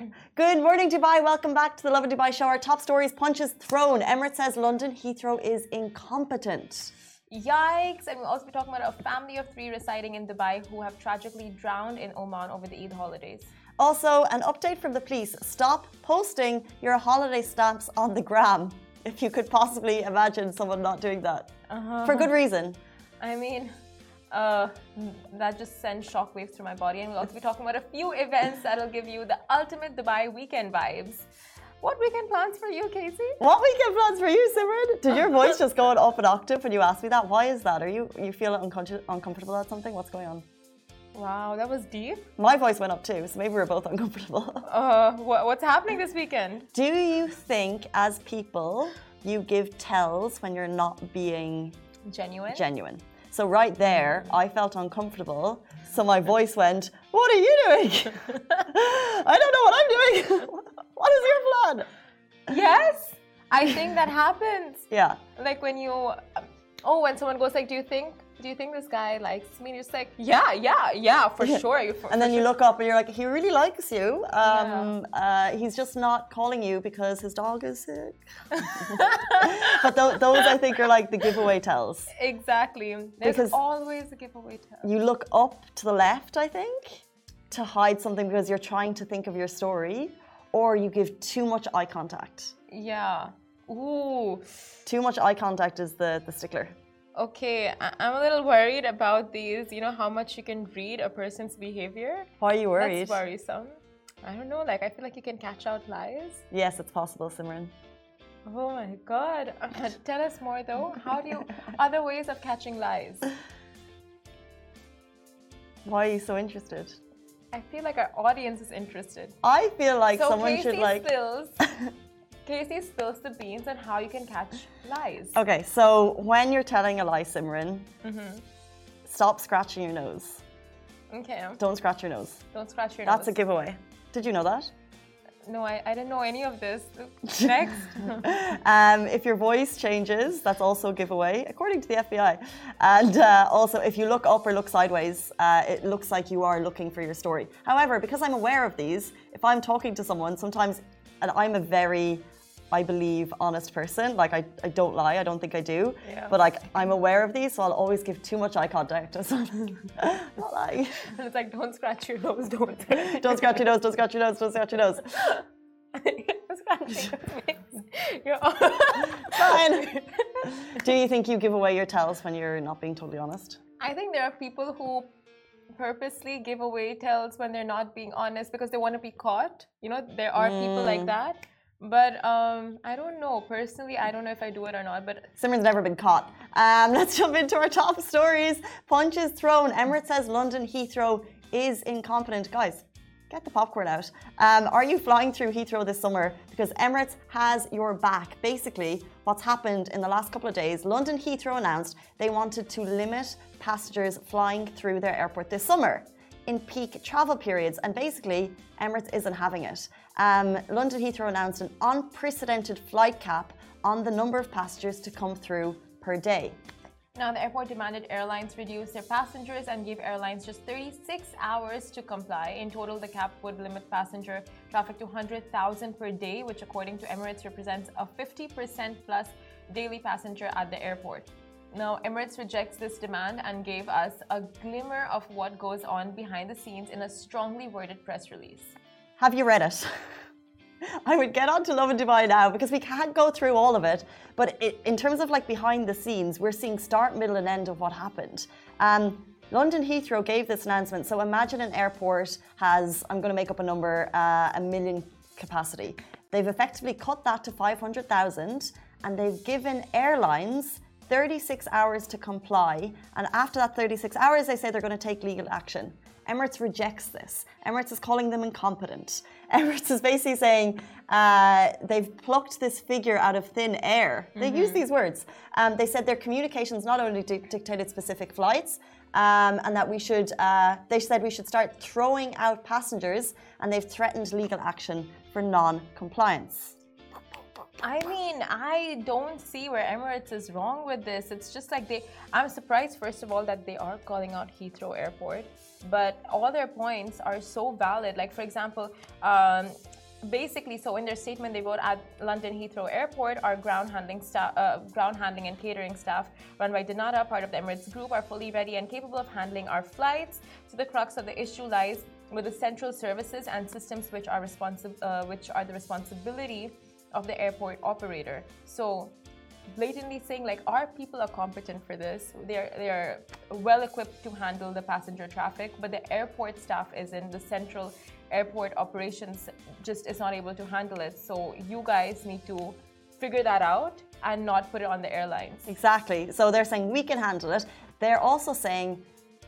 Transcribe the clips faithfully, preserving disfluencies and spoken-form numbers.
Good morning, Dubai. Welcome back to the Lovin Dubai show. Our top stories: punches thrown. Emirates says London Heathrow is incompetent. Yikes! And we'll also be talking about a family of three residing in Dubai who have tragically drowned in Oman over the Eid holidays. Also, an update from the police. Stop posting your holiday stamps on the gram. If you could possibly imagine someone not doing that. Uh-huh. For good reason. I mean, uh, that just sends shockwaves through my body. And we'll also be talking about a few events that'll give you the ultimate Dubai weekend vibes. What weekend plans for you, Casey? What weekend plans for you, Simran? Did your voice just go up an octave when you asked me that? Why is that? Are you you feel uncon- uncomfortable at something? What's going on? Wow, that was deep. My voice went up too, so maybe we're both uncomfortable. Uh, wh- what's happening this weekend? Do you think, as people, you give tells when you're not being genuine? Genuine. So right there, I felt uncomfortable. So my voice went, "What are you doing? I don't know what I'm doing. What is your plan?" Yes, I think that happens. Yeah. Like when you, oh, when someone goes like, "Do you think, do you think this guy likes me?" And you're just like, "Yeah, yeah, yeah, for sure." You for, and then for you sure. look up and you're like, "He really likes you. Um, Yeah. uh, he's just not calling you because his dog is sick." But th- those, I think, are like the giveaway tells. Exactly. There's Because always a giveaway tell. You look up to the left, I think, to hide something because you're trying to think of your story, or you give too much eye contact. Yeah. Ooh. Too much eye contact is the, the stickler. Okay, I- I'm a little worried about these. You know how much you can read a person's behavior? Why are you worried? That's worrisome. I don't know, like I feel like you can catch out lies. Yes, it's possible, Simran. Oh my god. Uh, tell us more though. How do you, other ways of catching lies? Why are you so interested? I feel like our audience is interested. I feel like so someone Casey should like... spills, Casey spills the beans on how you can catch lies. Okay, so when you're telling a lie, Simran, Mm-hmm. stop scratching your nose. Okay. Don't scratch your nose. Don't scratch your That's nose. a giveaway. Did you know that? No, I, I didn't know any of this. Next. um, if your voice changes, that's also a giveaway, according to the F B I. And uh, also, if you look up or look sideways, uh, it looks like you are looking for your story. However, because I'm aware of these, if I'm talking to someone, sometimes, and I'm a very, I believe, honest person, like I, I don't lie, I don't think I do, Yeah. but like I'm aware of these, so I'll always give too much eye contact. Not lying. And it's like, don't scratch your nose, don't. Don't scratch your nose, don't scratch your nose, don't scratch your nose. Scratching your Fine. Do you think you give away your tells when you're not being totally honest? I think there are people who purposely give away tells when they're not being honest because they want to be caught. You know, there are mm. people like that. But um, I don't know. Personally, I don't know if I do it or not. But Simran's never been caught. Um, let's jump into our top stories. Punches thrown. Emirates says London Heathrow is incompetent. Guys, get the popcorn out. Um, are you flying through Heathrow this summer? Because Emirates has your back. Basically, what's happened in the last couple of days, London Heathrow announced they wanted to limit passengers flying through their airport this summer in peak travel periods, and basically Emirates isn't having it. Um, London Heathrow announced an unprecedented flight cap on the number of passengers to come through per day. Now, the airport demanded airlines reduce their passengers and gave airlines just thirty-six hours to comply. In total, the cap would limit passenger traffic to one hundred thousand per day, which according to Emirates represents a fifty percent plus daily passenger at the airport. Now, Emirates rejects this demand and gave us a glimmer of what goes on behind the scenes in a strongly worded press release. Have you read it? I would get on to Lovin Dubai now because we can't go through all of it. But it, in terms of like behind the scenes, we're seeing start, middle and end of what happened. Um, London Heathrow gave this announcement. So imagine an airport has, I'm going to make up a number, uh, a million capacity. They've effectively cut that to five hundred thousand and they've given airlines thirty-six hours to comply. And after that thirty-six hours, they say they're going to take legal action. Emirates rejects this. Emirates is calling them incompetent. Emirates is basically saying uh, they've plucked this figure out of thin air. They mm-hmm. use these words. Um, they said their communications not only di- dictated specific flights, um, and that we should, uh, they said we should start throwing out passengers, and they've threatened legal action for non-compliance. I mean, I don't see where Emirates is wrong with this. It's just like they, I'm surprised, first of all, that they are calling out Heathrow Airport, but all their points are so valid. Like, for example, um, basically, so in their statement, they wrote at London Heathrow Airport, our ground handling staff, uh, ground handling and catering staff, run by Danata, part of the Emirates Group, are fully ready and capable of handling our flights. So the crux of the issue lies with the central services and systems which are responsible, uh, which are the responsibility of the airport operator. So blatantly saying like our people are competent for this, they're they're well equipped to handle the passenger traffic, but the airport staff isn't. The central airport operations just is not able to handle it. So you guys need to figure that out and not put it on the airlines. Exactly. So they're saying we can handle it. They're also saying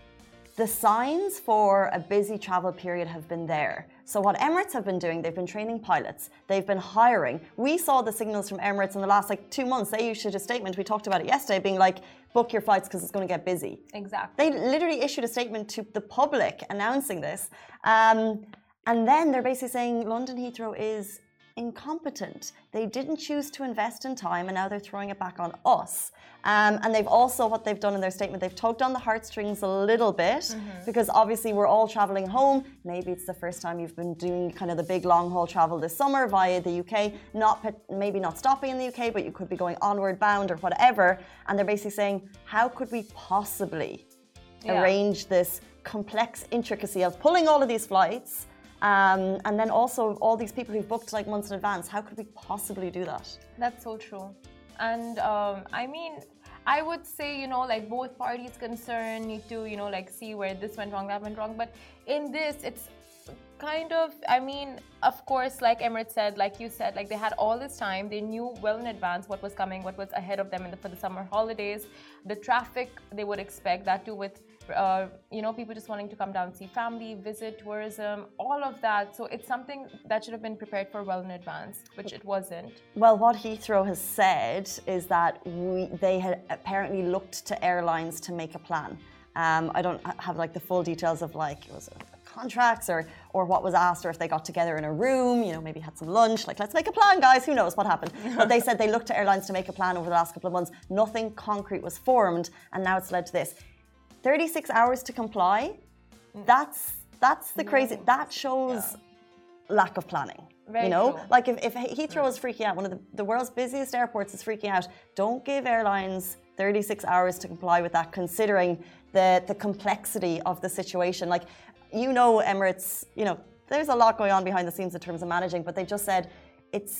the signs for a busy travel period have been there. So what Emirates have been doing, they've been training pilots, they've been hiring. We saw the signals from Emirates in the last like two months. They issued a statement, we talked about it yesterday, being like, book your flights because it's going to get busy. Exactly. They literally issued a statement to the public announcing this. Um, and then they're basically saying London Heathrow is incompetent. They didn't choose to invest in time and now they're throwing it back on us. Um, and they've also, what they've done in their statement, they've tugged on the heartstrings a little bit mm-hmm. because obviously we're all traveling home. Maybe it's the first time you've been doing kind of the big long haul travel this summer via the U K, not maybe not stopping in the U K, but you could be going onward bound or whatever. And they're basically saying, how could we possibly yeah. arrange this complex intricacy of pulling all of these flights? Um, and then also all these people who've booked like months in advance, how could we possibly do that? That's so true. And um, I mean, I would say, you know, like both parties concerned need to, you know, like see where this went wrong, that went wrong. But in this, it's kind of, I mean, of course, like Emirates said, like you said, like they had all this time. They knew well in advance what was coming, what was ahead of them in the, for the summer holidays. The traffic they would expect, that too with Uh, you know, people just wanting to come down, see family, visit, tourism, all of that. So it's something that should have been prepared for well in advance, which it wasn't. Well, what Heathrow has said is that we, they had apparently looked to airlines to make a plan. Um, I don't have like the full details of like, it was contracts or or what was asked, or if they got together in a room, you know, maybe had some lunch, like let's make a plan, guys, who knows what happened. But they said they looked to airlines to make a plan over the last couple of months. Nothing concrete was formed, and now it's led to this. thirty-six hours to comply, that's that's the crazy, that shows yeah. lack of planning. Very you know, true. like if, if Heathrow is freaking out, one of the, the world's busiest airports is freaking out, don't give airlines thirty-six hours to comply with that, considering the, the complexity of the situation. Like, you know, Emirates, you know, there's a lot going on behind the scenes in terms of managing, but they just said it's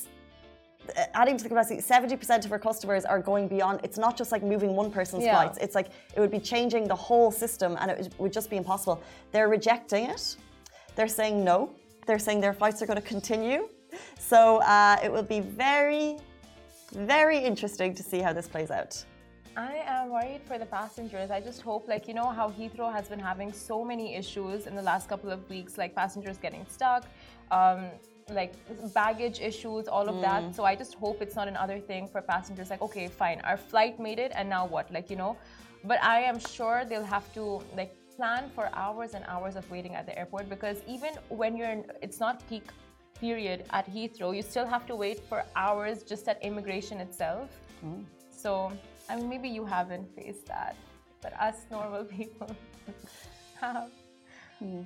adding to the capacity, seventy percent of our customers are going beyond. It's not just like moving one person's yeah. flights. It's like it would be changing the whole system and it would just be impossible. They're rejecting it. They're saying no. They're saying their flights are going to continue. So uh, it will be very, very interesting to see how this plays out. I am worried for the passengers. I just hope, like, you know, how Heathrow has been having so many issues in the last couple of weeks, like passengers getting stuck, um, like baggage issues, all of mm. that. So I just hope it's not another thing for passengers like, okay, fine, our flight made it and now what, like, you know. But I am sure they'll have to like plan for hours and hours of waiting at the airport, because even when you're in, it's not peak period at Heathrow, you still have to wait for hours just at immigration itself. Mm. So I mean, maybe you haven't faced that, but us normal people have. Mm.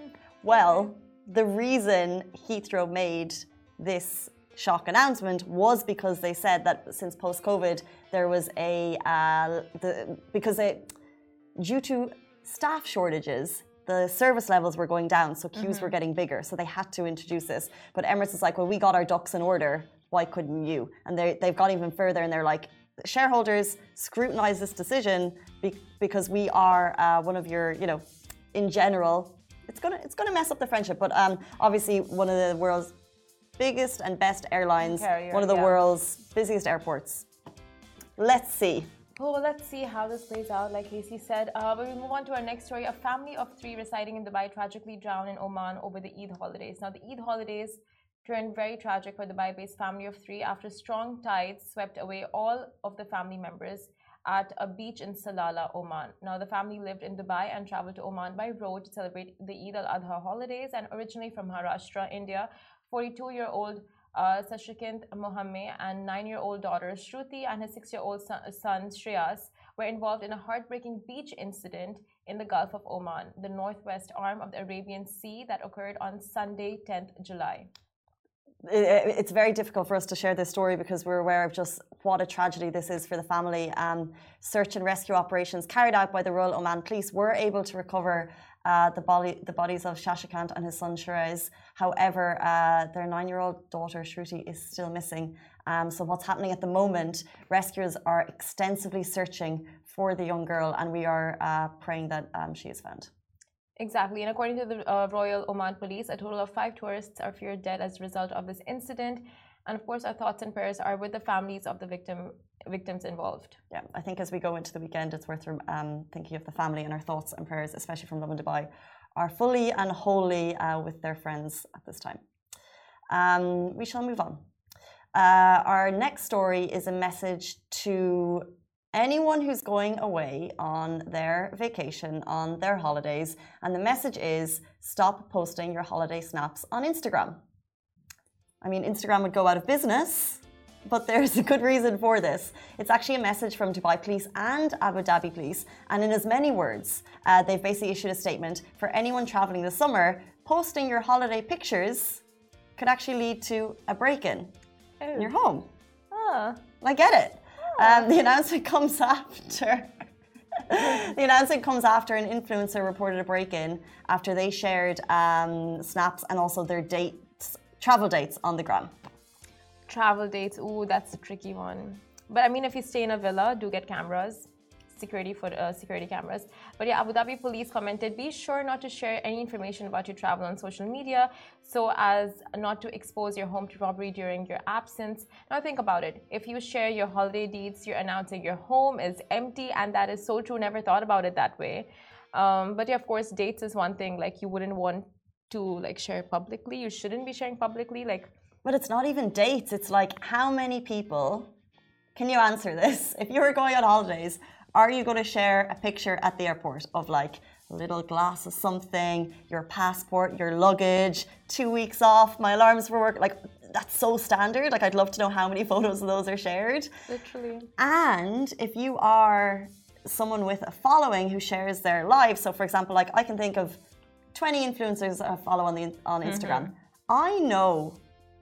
Well, the reason Heathrow made this shock announcement was because they said that since post-COVID there was a uh, the, because they, due to staff shortages, the service levels were going down, so queues mm-hmm. were getting bigger, so they had to introduce this. But Emirates is like, well, we got our ducks in order, why couldn't you? And they they've gone even further, and they're like, shareholders, scrutinize this decision be- because we are uh, one of your, you know, in general. It's gonna it's gonna mess up the friendship, but um, obviously one of the world's biggest and best airlines, Carrier, one of the yeah. world's busiest airports. Let's see. Oh, well, let's see how this plays out, like Casey said. Uh, but we move on to our next story. A family of three residing in Dubai tragically drowned in Oman over the Eid holidays. Now, the Eid holidays turned very tragic for the Dubai-based family of three after strong tides swept away all of the family members at a beach in Salalah, Oman. Now, the family lived in Dubai and traveled to Oman by road to celebrate the Eid al-Adha holidays, and originally from Maharashtra, India, forty-two-year-old uh, Sashikant Mohammed and nine-year-old daughter Shruti and his six-year-old son, son Shreyas were involved in a heartbreaking beach incident in the Gulf of Oman, the northwest arm of the Arabian Sea, that occurred on Sunday, tenth July. it's very difficult for us to share this story because we're aware of just what a tragedy this is for the family. Um, search and rescue operations carried out by the Royal Oman Police were able to recover uh, the, body, the bodies of Shashikant and his son Shiraz. However, uh, their nine-year-old daughter Shruti is still missing. Um, so what's happening at the moment, rescuers are extensively searching for the young girl, and we are uh, praying that um, she is found. Exactly, and according to the uh, Royal Oman Police, a total of five tourists are feared dead as a result of this incident. And of course, our thoughts and prayers are with the families of the victim victims involved. Yeah, I think as we go into the weekend, it's worth um, thinking of the family, and our thoughts and prayers, especially from Lovin Dubai, are fully and wholly uh, with their friends at this time. Um, we shall move on. Uh, our next story is a message to anyone who's going away on their vacation, on their holidays, and the message is stop posting your holiday snaps on Instagram. I mean, Instagram would go out of business, but there's a good reason for this. It's actually a message from Dubai Police and Abu Dhabi Police, and in as many words, uh, they've basically issued a statement for anyone traveling this summer. Posting your holiday pictures could actually lead to a break-in oh. in your home. Ah. I get it. Um, the announcement comes after the announcement comes after an influencer reported a break-in after they shared um, snaps and also their dates, travel dates on the gram. Travel dates, ooh, that's a tricky one. But I mean, if you stay in a villa, do get cameras, security for uh, security cameras. But yeah, Abu Dhabi Police commented, be sure not to share any information about your travel on social media so as not to expose your home to robbery during your absence. Now think about it. If you share your holiday deeds, you're announcing your home is empty, and that is so true. Never thought about it that way. Um, but yeah, of course, dates is one thing. Like you wouldn't want to like share publicly. You shouldn't be sharing publicly. Like, but it's not even dates. It's like how many people. Can you answer this? If you were going on holidays, are you going to share a picture at the airport of like a little glass of something, your passport, your luggage, two weeks off, my alarms for work? Like, that's so standard. Like, I'd love to know how many photos of those are shared. Literally. And if you are someone with a following who shares their life, so for example, like I can think of twenty influencers I follow on, the, on Instagram. Mm-hmm. I know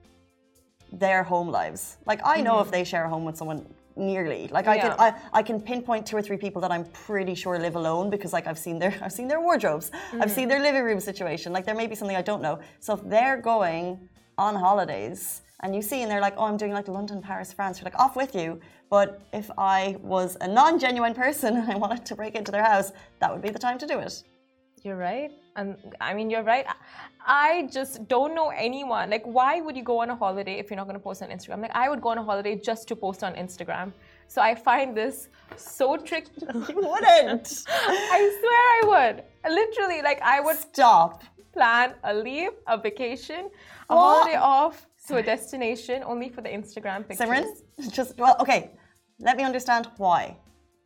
their home lives. Like, I know mm-hmm. if they share a home with someone, nearly like I yeah. can I, I can pinpoint two or three people that I'm pretty sure live alone because like I've seen their I've seen their wardrobes, mm-hmm. I've seen their living room situation. Like there may be something I don't know. So if they're going on holidays and you see and they're like, oh, I'm doing like London, Paris, France, you're like, off with you. But if I was a non-genuine person and I wanted to break into their house, that would be the time to do it. You're right. And I mean, you're right. I just don't know anyone. Like, why would you go on a holiday if you're not going to post on Instagram? Like, I would go on a holiday just to post on Instagram. So I find this so tricky. You wouldn't. I swear I would. Literally, like, I would stop. Plan a leave, a vacation, a what? holiday off to a destination only for the Instagram pictures. Simran, just, well, okay. Let me understand why.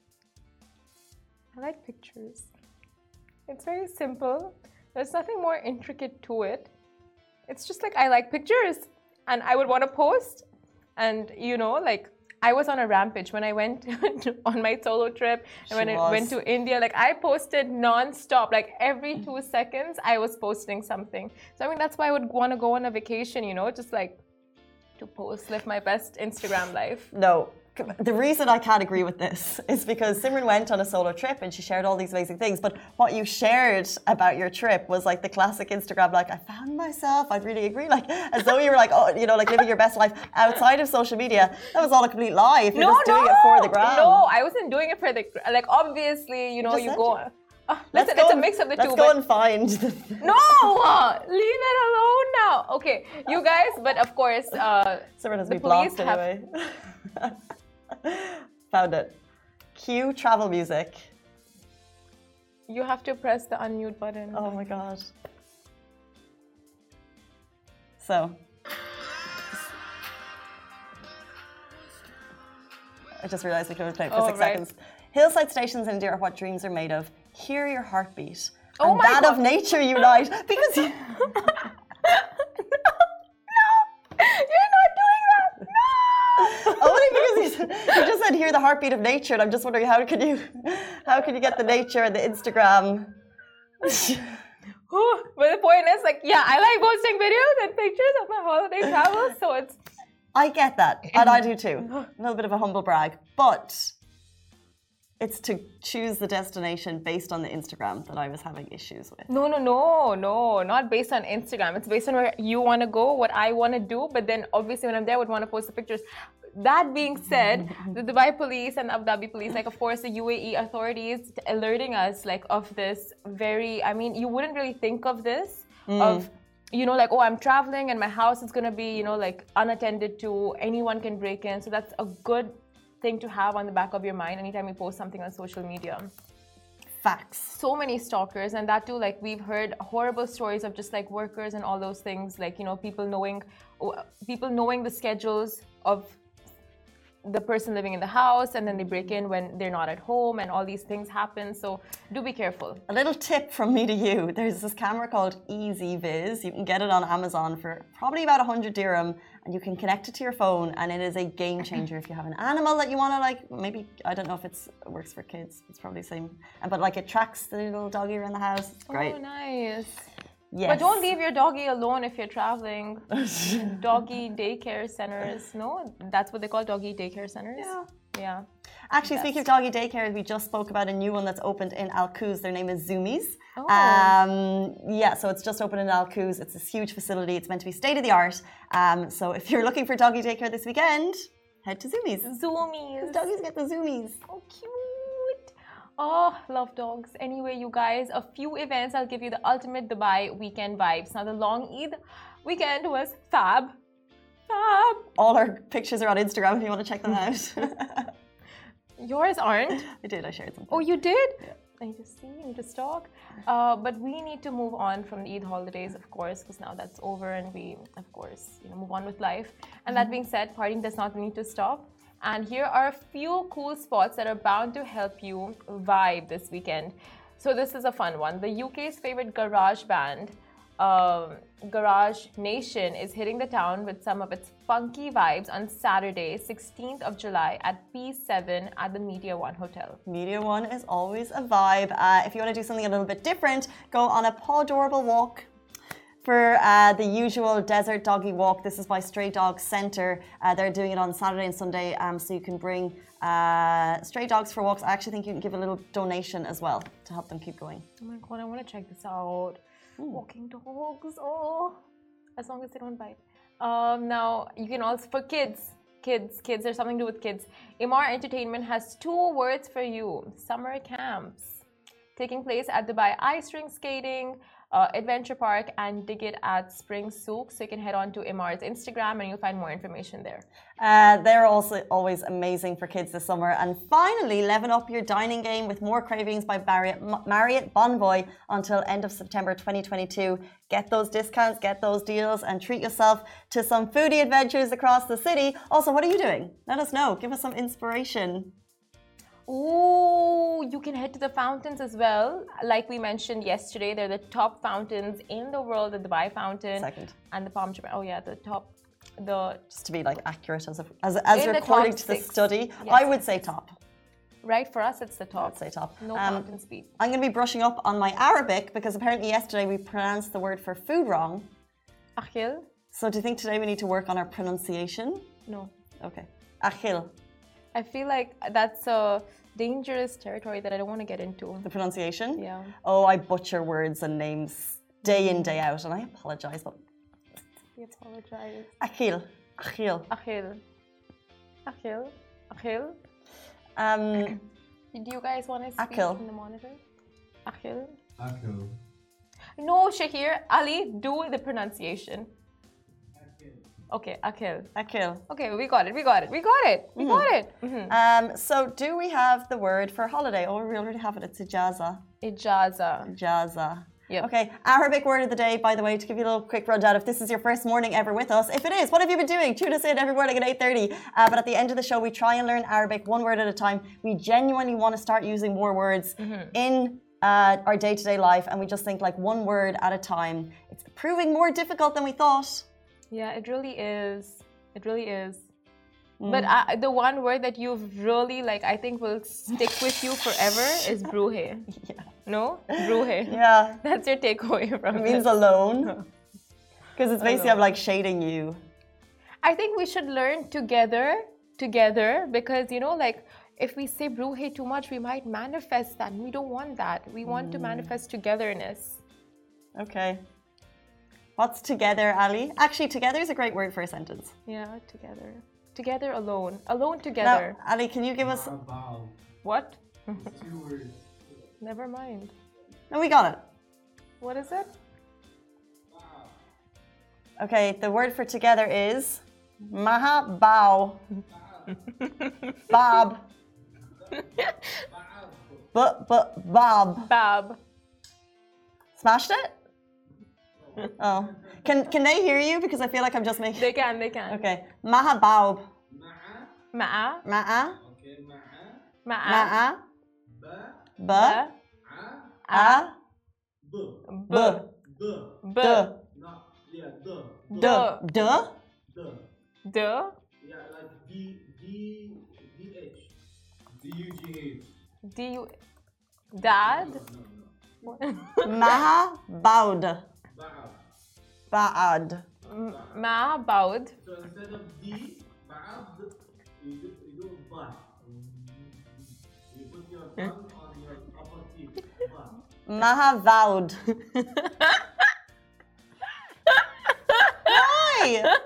I like pictures. It's very simple. There's nothing more intricate to it. It's just like I like pictures and I would want to post. And you know, like I was on a rampage when I went on my solo trip and she when was. I went to India. Like I posted non-stop. Like every two seconds I was posting something. So I mean, that's why I would want to go on a vacation, you know, just like to post, live my best Instagram life. No. The reason I can't agree with this is because Simran went on a solo trip and she shared all these amazing things. But what you shared about your trip was like the classic Instagram, like, I found myself. I'd really agree. Like, as though you were like, oh, you know, like living your best life outside of social media. That was all a complete lie. If you're no, just doing no, it for the gram. No, I wasn't doing it for the, like, obviously, you know, you go. You. Oh, listen, it's and, a mix of the let's two. Let's go but and find. No, leave it alone now. Okay, you guys, but of course, uh, Simran has the been police blocked anyway. Found it. Cue travel music. You have to press the unmute button. Oh my god. So. I just realized we could have played for oh, six right. seconds. Hillside stations in India are what dreams are made of. Hear your heartbeat. Oh and my that god. of nature unite. Because you... Only because you just said hear the heartbeat of nature, and I'm just wondering how can you, how can you get the nature and the Instagram? But the point is, like, yeah, I like posting videos and pictures of my holiday travels, so it's... I get that, and I do too. A little bit of a humble brag, but it's to choose the destination based on the Instagram that I was having issues with. No, no, no, no, not based on Instagram. It's based on where you want to go, what I want to do, but then obviously when I'm there, I would want to post the pictures. That being said, the Dubai police and Abu Dhabi police, like, of course, the U A E authorities alerting us, like, of this very, I mean, you wouldn't really think of this, mm. of, you know, like, oh, I'm traveling and my house is going to be, you know, like, unattended to, anyone can break in. So that's a good thing to have on the back of your mind anytime you post something on social media. Facts. So many stalkers, and that too, like, we've heard horrible stories of just like workers and all those things, like, you know, people knowing people knowing the schedules of the person living in the house, and then they break in when they're not at home, and all these things happen. So do be careful. A little tip from me to you: there's this camera called EasyViz. You can get it on Amazon for probably about one hundred dirham, and you can connect it to your phone, and it is a game changer if you have an animal that you want to, like, maybe, I don't know if it's, it works for kids, it's probably the same, but like it tracks the little doggy around the house. It's great. Oh, nice. Yes. But don't leave your doggy alone if you're traveling. Doggy daycare centers, no? That's what they call doggy daycare centers? Yeah. Yeah. Actually, speaking of doggy daycare, we just spoke about a new one that's opened in Al Quoz. Their name is Zoomies. Oh. Um, yeah, so it's just opened in Al Quoz. It's this huge facility. It's meant to be state of the art. Um, so if you're looking for doggy daycare this weekend, head to Zoomies. Zoomies. Doggies get the Zoomies. Oh, cute. Oh, love dogs. Anyway, you guys, a few events. I'll give you the ultimate Dubai weekend vibes. Now, the long Eid weekend was fab. Fab. All our pictures are on Instagram if you want to check them out. Yours aren't. I did, I shared them. Oh, you did? Yeah. I need to see, I need to stalk. Uh, but we need to move on from the Eid holidays, of course, because now that's over and we, of course, you know, move on with life. And that being said, partying does not need to stop. And here are a few cool spots that are bound to help you vibe this weekend. So this is a fun one. The U K's favorite garage band, um, Garage Nation, is hitting the town with some of its funky vibes on Saturday, sixteenth of July at P seven at the Media One Hotel. Media One is always a vibe. Uh, if you want to do something a little bit different, go on a Pawdorable walk. For uh, the usual desert doggy walk, this is by Stray Dogs Centre. Uh, they're doing it on Saturday and Sunday, um, so you can bring uh, stray dogs for walks. I actually think you can give a little donation as well to help them keep going. Oh my god, I want to check this out. Ooh. Walking dogs, oh, as long as they don't bite. Um, now, you can also, for kids, kids, kids, there's something to do with kids. Emaar Entertainment has two words for you: summer camps. Taking place at Dubai Ice Rink Skating, uh, Adventure Park, and Digit at Spring Souk. So you can head on to Emaar's Instagram and you'll find more information there. Uh, they're also always amazing for kids this summer. And finally, level up your dining game with more cravings by Marriott, Marriott Bonvoy until end of September twenty twenty-two. Get those discounts, get those deals, and treat yourself to some foodie adventures across the city. Also, what are you doing? Let us know. Give us some inspiration. Ooh, you can head to the fountains as well. Like we mentioned yesterday, they're the top fountains in the world, the Dubai fountain. Second. And the Palm Jumeirah. Oh yeah, the top. The Just to be like accurate as a, as, as according to the six. study, Yes. I would say top. Right, for us it's the top. I'd say top. No Um, fountain speed. I'm going to be brushing up on my Arabic because apparently yesterday we pronounced the word for food wrong. Akhil? So do you think today we need to work on our pronunciation? No. Okay. Akhil. I feel like that's a dangerous territory that I don't want to get into. The pronunciation? Yeah. Oh, I butcher words and names day in, day out, and I apologize. But We apologize. Akhil. Akhil. Akhil. Akhil. Akhil. Um, Do you guys want to speak Akhil. in the monitor? Akhil. Akhil. No, Shahir. Ali, do the pronunciation. Okay, Akhil. Akhil. Okay, we got it. We got it. We got it. We got it. Mm-hmm. Um, so do we have the word for holiday? Oh, we already have it. It's ijaza. Ijaza. Ijaza. Yep. Okay, Arabic word of the day, by the way, to give you a little quick rundown. If this is your first morning ever with us, if it is, what have you been doing? Tune us in every morning at eight thirty. Uh, but at the end of the show, we try and learn Arabic one word at a time. We genuinely want to start using more words mm-hmm. in uh, our day-to-day life, and we just think like one word at a time. It's proving more difficult than we thought. Yeah, it really is. It really is. But uh, the one word that you've really like, I think will stick with you forever is bruhe. Yeah. No? Bruhe. Yeah. That's your takeaway from It means this. alone. Because it's basically I'm Alone. like shading you. I think we should learn together, together, because you know, like if we say bruhe too much, we might manifest that. And we don't want that. We want to manifest togetherness. Okay. What's together, Ali? Actually, together is a great word for a sentence. Yeah, together. Together alone. Alone Now, together. Ali, can you give us... Bow. What? Two words. Never mind. No, we got it. What is it? Okay, the word for together is maha bao. Bob. But but Bob. Bab. Smashed it? Oh. Can can they hear you? Because I feel like I'm just making. They can, they can. Okay. Maha baub. Ma'a. Ma'a. Okay, ma'a. Ma'a. Ma'a. Ba. Ba. A. A. B. B. D. B. D. No. Yeah. D. D. D. D. D. Yeah, like D. D. D. H. D. U. G. H. D. U. Dad. No, no, no. Maha baud. Ba'ab. Ba'ad. Ma. Baud. So instead of D, ba'ab, you do, you do ba. You put your tongue on your upper teeth. Ba. Maha vowed. Why?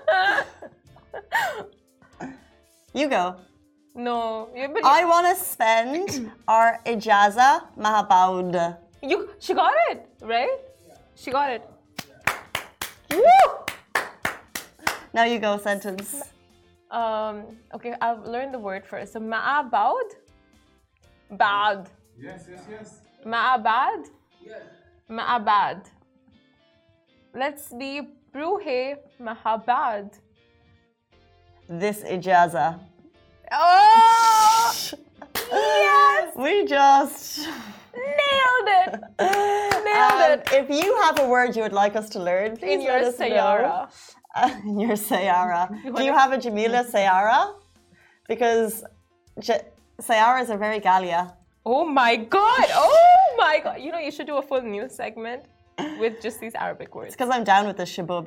You go. No. You, but I want to spend our ijaza maha baud. you, she got it, right? She got it. Woo! Now you go, sentence. Um, okay, I'll learn the word first. So, ma'a baud? Bad. Yes, yes, yes. Ma'a bad? Yes. Ma'a bad. Let's be bruhe mahabad. This ijaza. Oh! Yes! We just Nailed it! Nailed Um, it! if you have a word you would like us to learn, please In your let us know. sayara. Uh, in your sayara. Do you wanna- have a Jamila sayara? Because J- sayaras are very Galia. Oh my god! Oh my god! You know, you should do a full news segment with just these Arabic words. It's because I'm down with the shabub.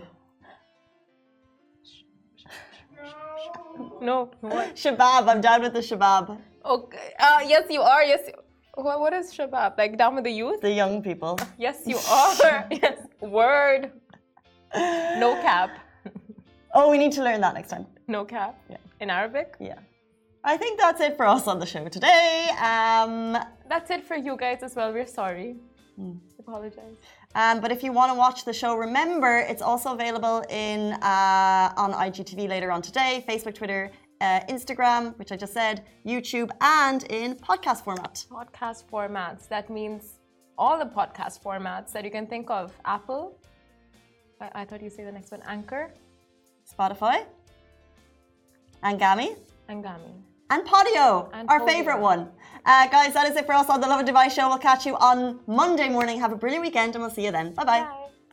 No, what? Shabab, I'm down with the shabab. Okay. Uh, yes, you are. Yes. You... What, what is shabab? Like down with the youth? The young people. Yes, you are. Yes. Word. No cap. Oh, we need to learn that next time. No cap. Yeah. In Arabic. Yeah. I think that's it for us on the show today. Um, That's it for you guys as well. We're sorry. Apologize. um, but if you want to watch the show, remember it's also available in uh, on I G T V later on today, Facebook, Twitter, uh, Instagram, which I just said, YouTube, and in podcast format. Podcast formats. That means all the podcast formats that you can think of. Apple. I, I thought you say the next one. Anchor. Spotify, Angami, Angami. and Podio, And our Podio. favorite one. Uh, guys, that is it for us on the Love and Device show. We'll catch you on Monday morning. Have a brilliant weekend, and we'll see you then. Bye-bye. Bye.